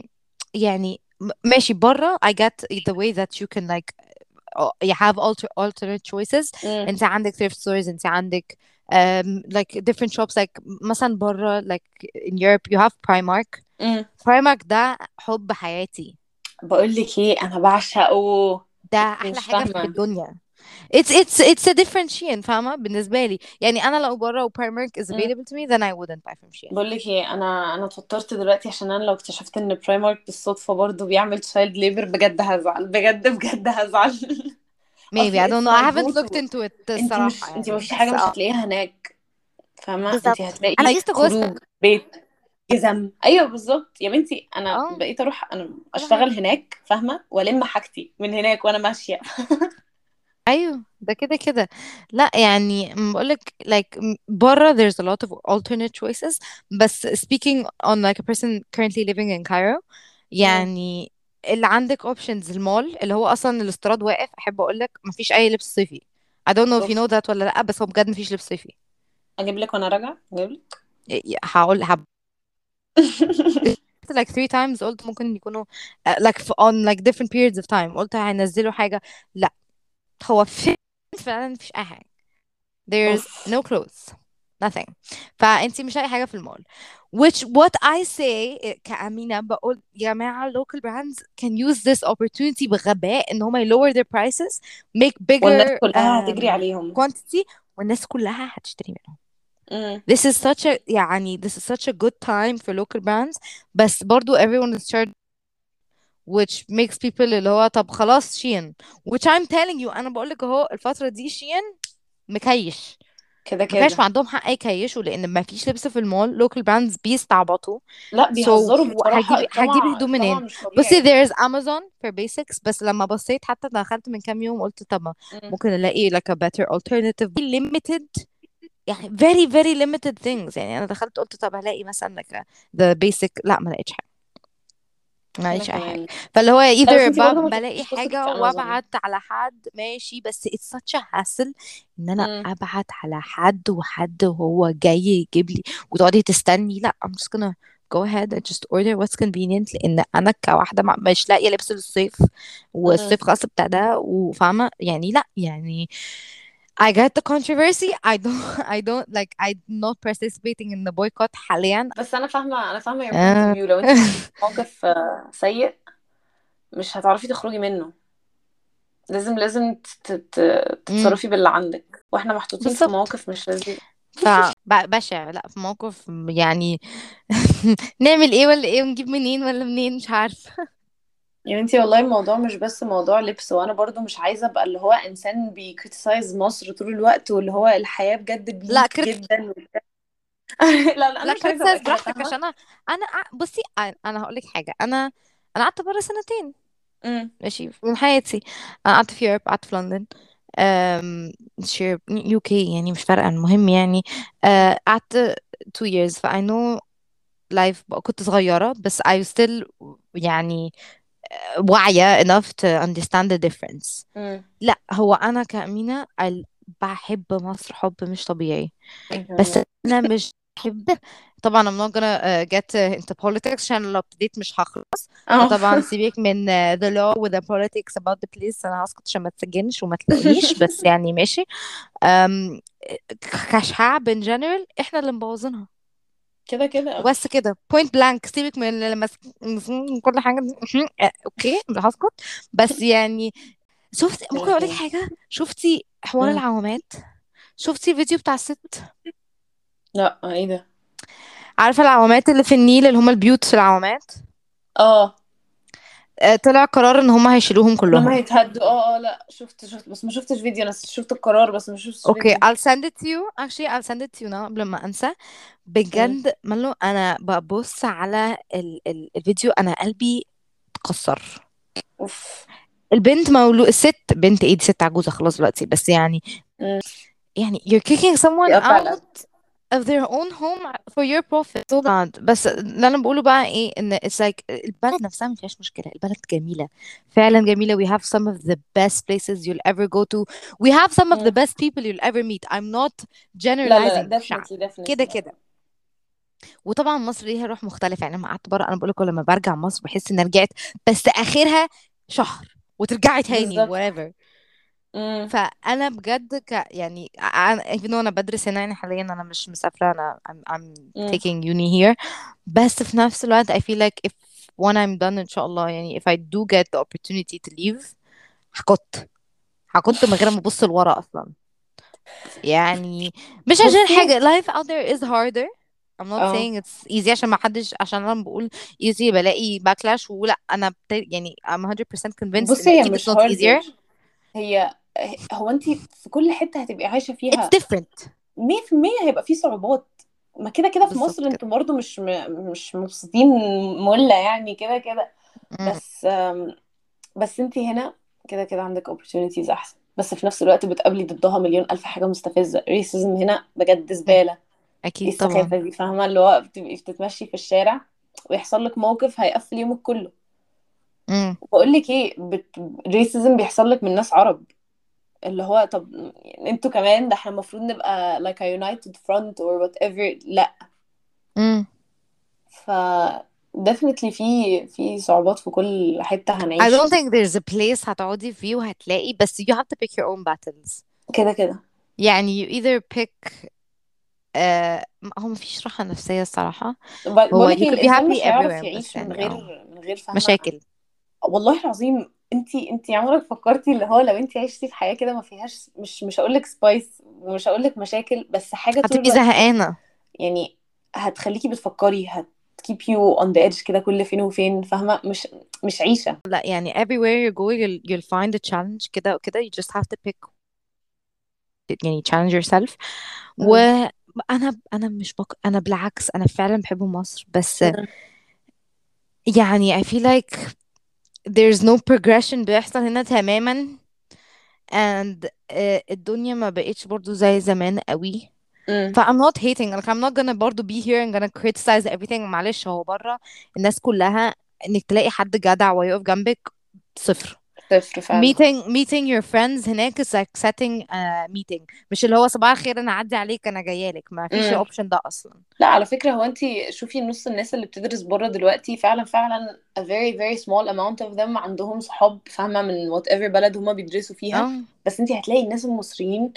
يعني ماشي بره I get the way that you can like you have alternate choices امم. انت عندك thrift stores انت عندك like different shops like مثلا بره like in Europe you have Primark. امم. Primark ده حب حياتي بقول لك ايه، انا بعشقه. ده انتي احلى مش حاجة في فاهمة. الدنيا. it's a different Shein فاهمة بالنسبة لي يعني انا لو بره و Primark is available to me then I wouldn't buy from Shein. بقول لك ايه، انا اتوترت دلوقتي عشان انا لو اكتشفت ان برايمارك بالصدفه برضو بيعمل تشايلد ليبر بجد هزعل، بجد بجد هزعل. maybe اصل I don't اتس know I ماي جو haven't looked تو. into it الصراحة انت ما يعني فيش حاجه بس مش هتلاقيها هناك، فاهمه، انت بالظبط انا هتلاقي used to go خروج، بيت، جزم، ايوه بالظبط يا بنتي. انا اه بقيت اروح انا كل حاجة. اشتغل هناك، فاهمه، والم حاجتي من هناك وانا ماشيه. ايوه ده كده كده لا يعني بقولك like بره there's a lot of alternate choices بس speaking on like a person currently living in Cairo مم. يعني اللي عندك options المول اللي هو اصلا الاستيراد واقف احب اقولك مفيش اي لبس صيفي. I don't know if you اوف. know that ولا لا بس هو بجد مفيش لبس صيفي. اجيب لك وانا راجعه، اجيب لك. هقول like three times قلت ممكن يكونوا like on like different periods of time قلت هينزلوا حاجة لا هو فعلا مفيش اي حاجة. There's اوف. no clothes nothing فانتي مش لاقي حاجة في المول which what I say كأمينة بقول يا جماعة local brands can use this opportunity بغباء ان هم lower their prices make والناس bigger كلها هتجري عليهم. quantity والناس كلها هتشتري منهم. امم. this is such a good time for local brands. بس برضو everyone is charged, which makes people اللي هو طب خلاص شين. which I'm telling you أنا بقولك أهو الفترة دي شين مكيش. كده ما كانش كده. عندهم حق يكيشوا لأن ما فيش لبس في المول. local brands بيستعبطوا. لا so بيهزروا بصراحة، هجيب الطمع هدوم الطمع منين؟ مش بصي طبيعي. there's Amazon for basics. بس لما بصيت حتى دخلت من كام يوم قلت طب ما امم. ممكن الاقي like a better alternative limited. يعني very very limited things. يعني انا دخلت قلت طب هلاقي مثلا like the basic. لا ما لقيتش حاجه. ما انا لقيتش اي حاجه. كمان. فاللي هو لا بس either انتي برضه ما بلاقي تقدريش تثقي حاجه في امازون. وابعت على حد ماشي. بس it's such a hassle ان انا امم. ابعت على حد وحد وهو جاي يجيب لي وتقعدي تستني. لا I'm just gonna go ahead and just order what's convenient. لان انا كواحده مش لاقيه لبس للصيف امم. والصيف خلاص ابتدى وفاهمه يعني. لا يعني I get the controversy. I don't like I'm not participating in the boycott حاليا. بس انا فاهمه your point of آه. view. لو انت محطوطه في موقف سيء، مش هتعرفي تخرجي منه. لازم أمم، تتصرفي باللي عندك، واحنا محطوطين في بالظبط. مواقف مش لذيذة. بشع. لا في موقف يعني نعمل ايه ولا ايه ونجيب منين ولا منين مش عارفة. يعني انتي والله الموضوع مش بس موضوع لبس، وانا برضو مش عايزة ابقى اللي هو انسان بيكريتيسايز مصر طول الوقت، واللي هو الحياة بجد لا بليك جدا لا انا لا مش عايزة ابقى كريتسايز كده، براحتك فاهمة. عشان انا بصي انا هقول لك حاجة. انا قعدت بره سنتين امم. ماشي من حياتي. انا قعدت في يوروب قعدت في لندن. مش يو كي يعني مش فارقة المهم يعني. قعدت 2 years ف I know life. كنت صغيرة بس I was still يعني واعية enough to understand the difference. امم. لا هو انا كأمينة بحب مصر حب مش طبيعي. انا كمان بس والله. انا مش بحب. طبعا I'm not gonna get into politics عشان لو ابتديت مش هخلص. اه. فطبعا سيبك من the law و the politics about the place. انا هسكت عشان ما تسجنش وما تلاقونيش بس يعني ماشي. أم... كشعب in general احنا اللي مبوظينها. كده كده. وبس كده point blank. سيبك من لما كل حاجة دي. اوكي مش هسكت. بس يعني كده ممكن اقول لك كده. حاجة. شفتي حوار امم. العوامات؟ شفتي الفيديو بتاع الست؟ لا ايه ده؟ عارفة العوامات اللي في النيل اللي هم البيوت في العوامات؟ اه. طلع قرار ان هم هيشيلوهم ان هم كلهم. هيتهدوا. اه اه، لا شفت بس ما شفتش فيديو. انا شفت القرار بس ما شفتش اوكي فيديو. I'll send it to you. actually I'll send it to you now قبل ما انسى. امم. بجد مالو انا ببص على الفيديو انا قلبي اتكسر. اوف. الست بنت ايه دي ست عجوزة خلاص دلوقتي بس يعني. امم. يعني you're kicking someone يقطع القلب. out of their own home for your profit. so bad. بس اللي انا بقوله بقى ايه ان it's like البلد نفسها ما فيهاش مشكلة. البلد جميلة فعلا جميلة. we have some of the best places you'll ever go to. we have some of the امم. best people you'll ever meet. I'm not لا لا generalizing لا، في شعب definitely كده definitely. كده. وطبعا مصر ليها روح مختلفة. يعني لما قعدت بره انا بقول لك لما برجع مصر بحس اني رجعت بس اخرها شهر وترجعي تاني بالظبط. whatever. امم. فانا بجد يعني even though انا بدرس هنا يعني حاليا انا مش مسافره. انا I'm امم. taking uni here. بس في نفس الوقت I feel like if when I'm done ان شاء الله يعني if I do get the opportunity to leave هكت من غير ما ابص لورا اصلا. يعني مش عشان بصي. حاجه life out there is harder. I'm not اه. saying it's easy عشان ما حدش عشان انا بقول easy بلاقي backlash ولا انا يعني I'm 100% convinced ان بصي هي اكيد it's مش not هاردر. easier. هي هو انت في كل حتة هتبقي عايشة it's فيها different. 100% هيبقى في صعوبات. ما كده كده في مصر بالظبط كده. انتوا برضو مش مبسوطين ملة يعني كده كده. مم. بس بس انت هنا كده كده عندك opportunities احسن، بس في نفس الوقت بتقابلي ضدها مليون الف حاجة مستفزة. ريسيزم هنا بجد زبالة. ايه اكيد طبعا. السخافة دي؟ فاهمة اللي هو بتبقي بتتمشي في الشارع ويحصل لك موقف هيقفل يومك كله. امم بقول لك ايه، ريسيزم بيحصل لك من ناس عرب. اللي هو طب يعني انتوا كمان، ده احنا المفروض نبقى like a united front or whatever. لا. امم ف definitely في صعوبات في كل حتة I هنعيشها. don't think there's a place هتقعدي فيه وهتلاقي بس you have to pick your own battles. كده كده. يعني you either pick هو مفيش راحة نفسية الصراحة. هو بقولك you ايه، could be الانسان happy مش هيعرف everywhere بس يعيش من يعني غير فاهمة. مشاكل. والله العظيم انتي عمرك فكرتي اللي هو لو انتي عشتي في حياة كده ما فيهاش، مش هقولك سبايس، مش هقول لك مشاكل، بس حاجة طول هتبقي الوقت زهقانة. يعني هتخليكي بتفكري، keep you on the edge كده كل فين وفين، فاهمة؟ مش عيشة. لا يعني everywhere you go you'll find a challenge كده وكده. You just have to pick يعني challenge yourself. مم. وانا مش انا بالعكس انا فعلا بحب مصر، بس مم. يعني I feel like there's no progression بيحصل هنا تماما. and الدنيا ما بقتش برضو زي زمان قوي. مم. ف I'm not hating like I'm not gonna برضو be here and gonna criticize everything. معلش هو بره الناس كلها انك تلاقي حد جدع ويقف جنبك صفر. صفر فعلا. meeting your friends هناك is like setting a meeting. مش اللي هو صباح الخير انا اعدي عليك انا جايالك، ما فيش مم. الاوبشن ده اصلا. لا على فكرة، هو انت شوفي نص الناس اللي بتدرس بره دلوقتي فعلا فعلا a very very small amount of them عندهم صحاب، فاهمة؟ من whatever بلد هما بيدرسوا فيها. اه بس انت هتلاقي الناس المصريين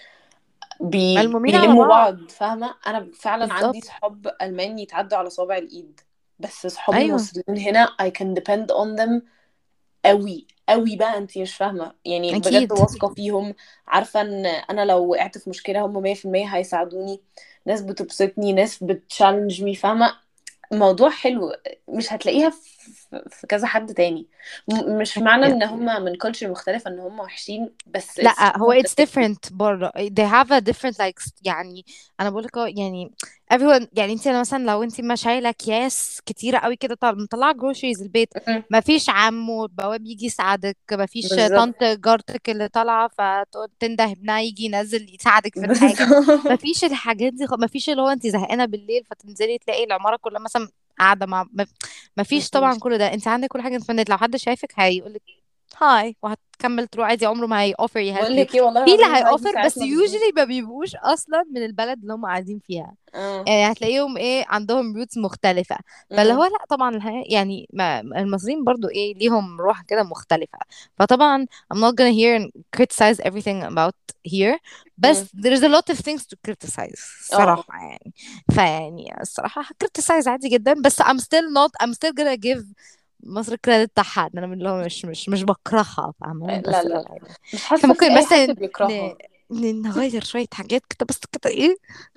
ملمومين على بيلموا بعض. بعض، فاهمة؟ انا فعلا عندي بالظبط. صحاب ألمان يتعدوا على صوابع الإيد، بس صحابي ايوه المصريين هنا I can depend on them قوي قوي بقى. انت مش فاهمة يعني، بجد اكيد. واثقة فيهم، عارفة ان انا لو وقعت في مشكلة هم 100% هيساعدوني. ناس بتبسطني، ناس بتشالنج مي، فاهمة؟ موضوع حلو، مش هتلاقيها في كذا حد تاني. مش معنى ان هم من كلتشر مختلفة ان هم وحشين، بس it's لا just هو not the it's same. different بره. they have a different like يعني انا بقول لك يعني everyone يعني انت مثلا لو انت ما شايله اكياس كتيره قوي كده مطلعه groceries البيت، مم. ما فيش عمو بواب يجي يساعدك، ما فيش بالظبط. طنط جارتك اللي طالعه فتقول تنده ابنها يجي ينزل يساعدك في الحاجه. ما بالظبط. فيش الحاجات دي ما فيش اللي هو انت زهقانه بالليل فتنزلي تلاقي العماره كلها مثلا قاعده مع ما فيش طبعا مفيش. كل ده. انت عندك كل حاجه انترنت، لو حد شايفك هيقول هاي وهتكمل تروح عادي، عمره ما هي offer بقول يhelp you. لك ايه، والله في العظيم اللي هي الناس دي offer ساعات بس ما بتجيش. usually ما بيبقوش اصلا من البلد اللي هم قاعدين فيها. اه. يعني هتلاقيهم ايه عندهم roots مختلفة. فاللي هو امم. لا طبعا يعني ما المصريين برضو ايه ليهم روح كده مختلفة. فطبعا I'm not gonna hear and criticize everything about here. امم. بس there's a lot of things to criticize اه. الصراحة يعني. فيعني الصراحة criticize عادي جدا، بس I'm still gonna give مصر الكريدت بتاعها. انا من اللي هو مش بكرهها فاهمة، لا بس لا لا لا، يعني مش احنا حاسة في ممكن اي بس حد بيكرهها. نغير شوية حاجات كده بس كده ايه.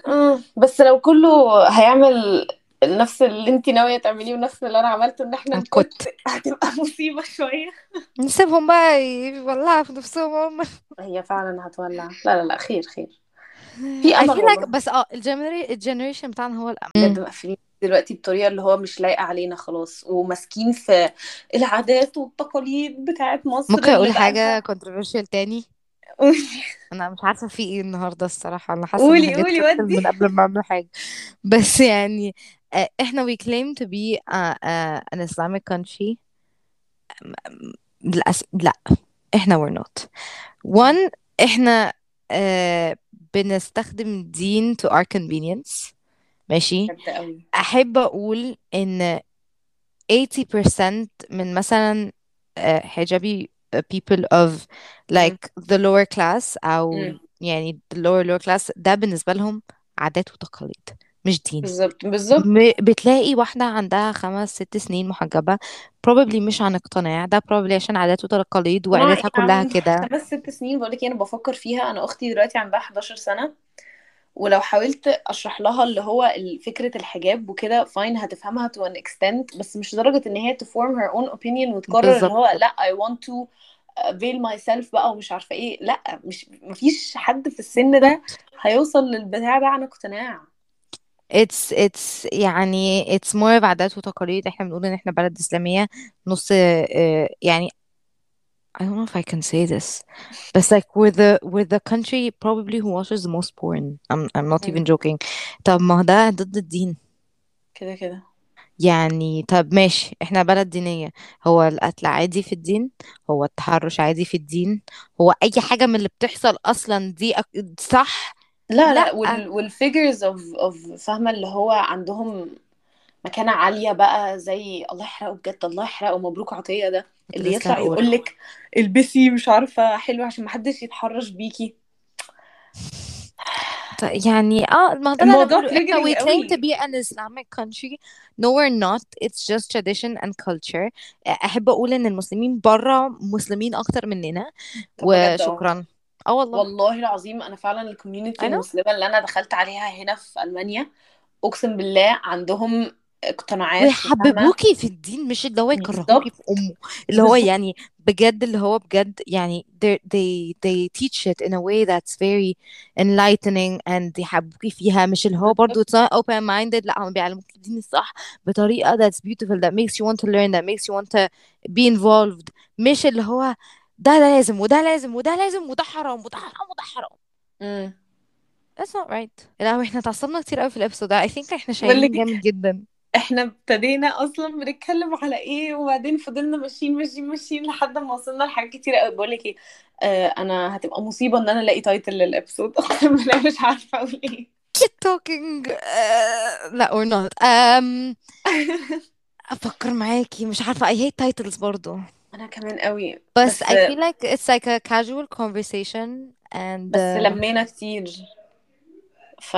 بس لو كله هيعمل نفس اللي انت ناوية تعمليه ونفس اللي انا عملته، ان احنا نكت، هنكت هتبقى مصيبة شوية. نسيبهم بقى يولعوا في نفسهم هم. هي فعلا هتولع. لا لا لا، خير خير، في I امل feel like والله. بس الجنريشن بتاعنا هو بجد الأمل. مقفلين دلوقتي بطريقة اللي هو مش لايقة علينا خلاص، وماسكين في العادات والتقاليد بتاعت مصر ممكن اللي اقول حاجة بقالها. controversial تاني؟ قولي. انا مش عارفة في ايه النهاردة الصراحة، انا حاسة ان قولي حاجات قولي كتير ودي. من قبل ما اعمل حاجة. بس يعني احنا we claim to be an Islamic country. للأسف لا، احنا we're not. one احنا بنستخدم الدين to our convenience. ماشي. بجد قوي. احب اقول ان 80% من مثلا حجابي people of مم. like the lower class او مم. يعني the lower class ده بالنسبة لهم عادات وتقاليد مش دين. بالظبط بالظبط. بتلاقي واحدة عندها 5 6 سنين محجبة probably مش عن اقتناع، ده probably عشان عادات وتقاليد اقتناع ايه وعيلتها يا كلها عم؟ كده. 5 6 سنين بقولك ايه، انا بفكر فيها. انا اختي دلوقتي عندها 11 سنة، ولو حاولت اشرح لها اللي هو فكرة الحجاب وكده فاين هتفهمها to an extent، بس مش لدرجة ان هي to form her own opinion وتقرر اللي بالظبط. هو لا I want to veil myself بقى ومش عارفة ايه. لا، مش مفيش حد في السن ده بالظبط. هيوصل للبتاع ده عن اقتناع. it's يعني it's more of عادات وتقاليد. احنا بنقول ان احنا بلد إسلامية نص يعني I don't know if I can say this but like we're the country probably who watches the most porn. I'm not even مم. joking. طب ما هو ده ضد الدين. كده كده. يعني طب ماشي احنا بلد دينية، هو القتل عادي في الدين؟ هو التحرش عادي في الدين؟ هو اي حاجة من اللي بتحصل اصلا دي صح؟ لا لا. لا، والفيجرز اوف فاهمة اللي هو عندهم مكانة عالية بقى، زي الله يحرقه بجد، الله يحرقه مبروك عطية ده، كنت اللي لسه يطلع هقول يقولك البسي مش عارفة حلو عشان محدش يتحرش بيكي. يعني ما ده اللي انا الموضوع بقوله. احنا تريجرنج we claim to قوي. be an Islamic country. No we're not. It's just tradition and culture. احب اقول ان المسلمين بره مسلمين اكتر مننا. طب بجد اه. وشكرا. اه والله. والله العظيم انا فعلا I الكوميونتي know. المسلمه اللي انا دخلت عليها هنا في المانيا، اقسم بالله عندهم اقتناعات وفاهمه. ويحببوكي في الدين، مش اللي هو يكرهوكي في بالظبط. امه. اللي هو بالظبط. يعني بجد، اللي هو بجد يعني they teach it in a way that's very enlightening and يحببوكي فيها. مش اللي هو برضو بالظبط. it's not open minded، لا هم بيعلموكي الدين الصح بطريقة that's beautiful that makes you want to learn that makes you want to be involved. مش اللي هو ده لازم وده لازم وده لازم وده حرام وده حرام وده حرام. امم. That's not right. لا احنا اتعصبنا كتير قوي في الابيسود ده. I think احنا بقول شايلين لك جامد جدا. احنا ابتدينا اصلا بنتكلم على ايه، وبعدين فضلنا ماشيين ماشيين ماشيين لحد ما وصلنا لحاجات كتير قوي. بقول لك ايه، انا هتبقى مصيبه ان انا الاقي تايتل للابسود. اقسم بالله مش عارفه اقول ايه. keep talking. لا or not. افكر معاكي، مش عارفة. I hate titles برضو. انا كمان قوي بس بس. I feel like it's like a casual conversation and بس لمينا كتير. ف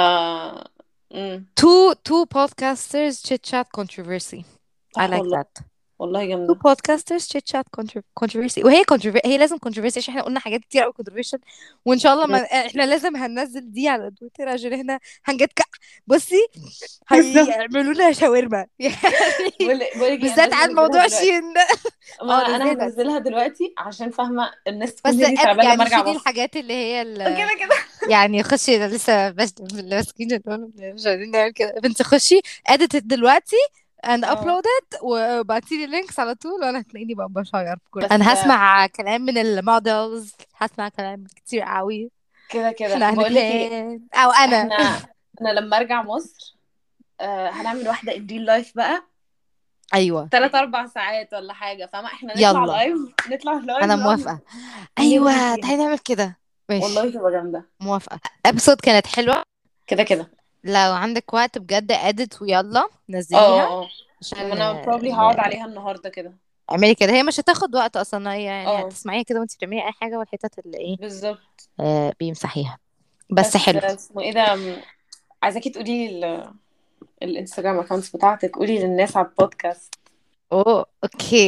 two podcasters chit chat controversy. I صح like والله. that. والله two جامده. podcasters chit chat controversy. وهي هي لازم controversy عشان احنا قلنا حاجات كتير قوي controversial. وان شاء الله ما احنا لازم هننزل دي على تويتر عشان احنا بصي بالظبط. هيعملوا لنا شاورما يعني. بقول لك ايه، انا بالذات لازم على انزلها موضوع دلوقتي. شين ده. ما اه انا ده زيادة. هنزلها دلوقتي عشان فاهمه الناس تكون بس هديت على بال لما يعني ارجع شيلي مصر. الحاجات اللي هي كده كده. يعني خشي. أنا لسه ماسكين جدول، مش عايزين نعمل كده. بنت خشي edit it دلوقتي and اه. upload it وبعتيلي اللينكس على طول، وانا هتلاقيني بقى بشير في كل. بس انا هسمع كلام من المودلز، هسمع كلام كتير قوي. كده كده احنا بقول لك ايه، هنتهان او انا. احنا انا لما ارجع مصر هنعمل واحده ان ريل لايف بقى، ايوه 3 4 ساعات ولا حاجه، فاهمه؟ احنا نطلع يلا لايف، نطلع لايف انا نقعد موافقة. نرغي ايوه فيها. تعالي نعمل كده. والله ماشي تبقى جامده. موافقة. ابسود كانت حلوة. كده كده. لو عندك وقت بجد edit ويلا اه نزليها اه اه. عشان انا probably هقعد عليها النهارده كده. اعملي كده. هي مش هتاخد وقت اصلا، هي يعني اه هتسمعيها كده وانت بتعملي اي حاجه، والحتت اللي ايه بالظبط. بيمسحيها. بس بس حلو. اسمه ايه ده، عايزاكي تقولي الانستجرام اكونتس بتاعتك، قولي للناس على البودكاست. اوه اوكي.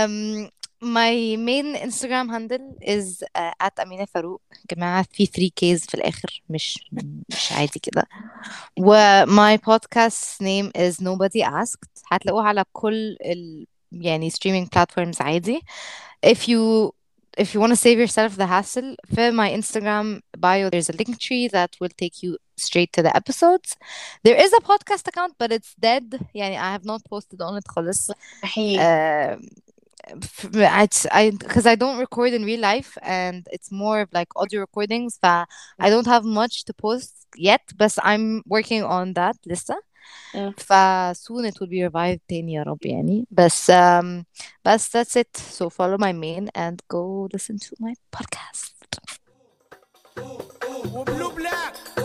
my main Instagram handle is at أمينة فاروق. يا جماعة في 3 Ks في الآخر، مش عادي كده. و my podcast name is Nobody Asked. هتلاقوها على كل يعني streaming platforms عادي. if you if you want to save yourself the hassle, في my Instagram bio there's a link tree that will take you straight to the episodes. There is a podcast account but it's dead. يعني I have not posted on it خالص. احيي. uh, because I don't record in real life and it's more of like audio recordings, ف I don't have much to post yet, but I'm working on that لسه. مم. ف soon it will be revived تاني يا رب يعني. بس that's it. So follow my main and go listen to my podcast. وبلو بلاك